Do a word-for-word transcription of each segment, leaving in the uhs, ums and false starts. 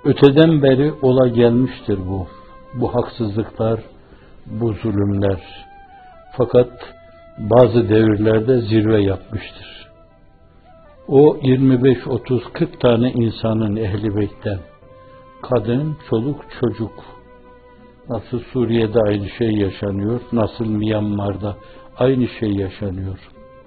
Öteden beri ola gelmiştir bu. Bu haksızlıklar, bu zulümler. Fakat bazı devirlerde zirve yapmıştır. O yirmi beş otuz kırk tane insanın Ehl-i Beyt'ten, kadın, çoluk, çocuk, nasıl Suriye'de aynı şey yaşanıyor, nasıl Myanmar'da aynı şey yaşanıyor.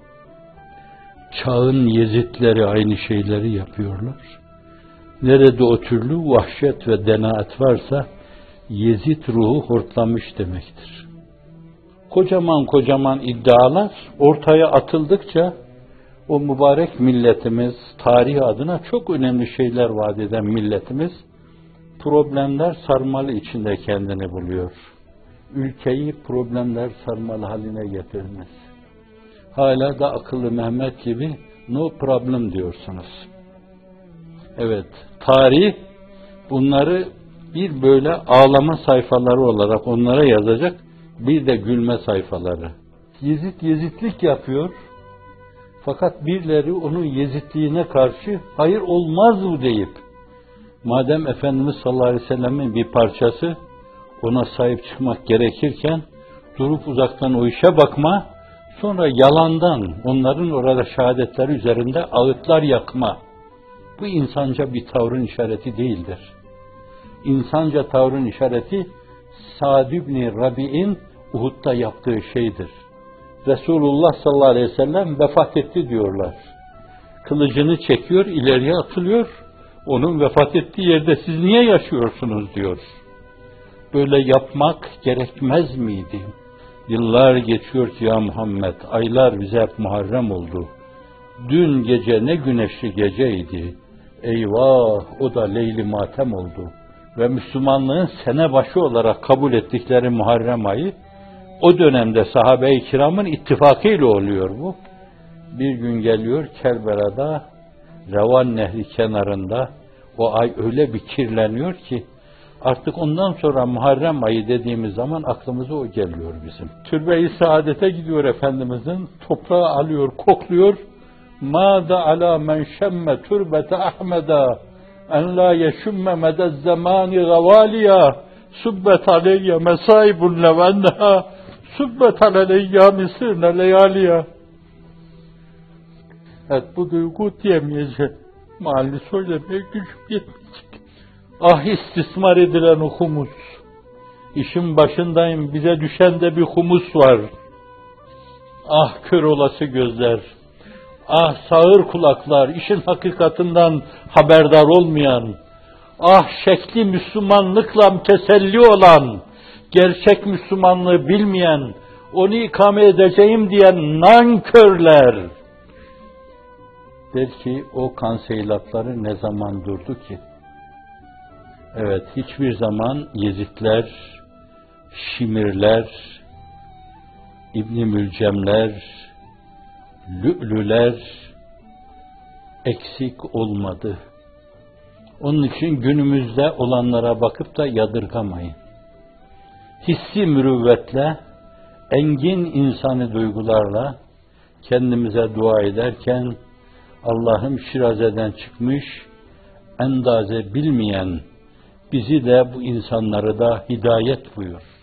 Çağın Yezidleri aynı şeyleri yapıyorlar. Nerede o türlü vahşet ve denaat varsa Yezid ruhu hortlamış demektir. Kocaman kocaman iddialar ortaya atıldıkça o mübarek milletimiz, tarih adına çok önemli şeyler vaat eden milletimiz, problemler sarmalı içinde kendini buluyor. Ülkeyi problemler sarmalı haline getirmez. Hala da akıllı Mehmet gibi no problem diyorsunuz. Evet, tarih bunları bir böyle ağlama sayfaları olarak onlara yazacak, bir de gülme sayfaları. Yezid Yezidlik yapıyor. Fakat birileri onun Yezidliğine karşı hayır olmaz bu deyip, madem Efendimiz sallallahu aleyhi ve sellem'in bir parçası, ona sahip çıkmak gerekirken durup uzaktan o işe bakma, sonra yalandan onların orada şehadetleri üzerinde ağıtlar yakma. Bu insanca bir tavrın işareti değildir. İnsanca tavrın işareti Sa'd ibn Rabi'in Uhud'da yaptığı şeydir. Resulullah sallallahu aleyhi ve sellem vefat etti diyorlar. Kılıcını çekiyor, ileriye atılıyor. Onun vefat ettiği yerde siz niye yaşıyorsunuz diyor. Böyle yapmak gerekmez miydi? Yıllar geçiyor ki ya Muhammed, aylar bize hep Muharrem oldu. Dün gece ne güneşli geceydi. Eyvah, o da Leyli Matem oldu. Ve Müslümanlığın sene başı olarak kabul ettikleri Muharrem ayı, o dönemde sahabe-i kiramın ittifakıyla oluyor bu. Bir gün geliyor Kerbela'da, Revan Nehri kenarında, o ay öyle bir kirleniyor ki, artık ondan sonra Muharrem ayı dediğimiz zaman aklımıza o geliyor bizim. Türbe-i Saadet'e gidiyor Efendimizin, toprağı alıyor, kokluyor. Mâda alâ men şemme türbete Ahmed'a en la yeşümme medez zamâni gavâliya subbet aleyye mesaibun levenneha subbet aleyye misirne leyâliya. Evet, bu duygu diyemeyecek. Mahalli söylemeye gücüm yetmeyecek. Ah istismar edilen o humus. İşin başındayım, bize düşen de bir humus var. Ah kör olası gözler. Ah sağır kulaklar, işin hakikatinden haberdar olmayan. Ah şekli Müslümanlıkla teselli olan, gerçek Müslümanlığı bilmeyen, onu ikame edeceğim diyen nankörler. Der ki o kanseylatları ne zaman durdu ki? Evet, hiçbir zaman Yezidler, Şimirler, İbn-i Mülcemler, Lü'lüler eksik olmadı. Onun için günümüzde olanlara bakıp da yadırgamayın. Hissi mürüvvetle, engin insani duygularla kendimize dua ederken Allah'ım Şiraze'den çıkmış, endaze bilmeyen bizi de bu insanları da hidayet buyur.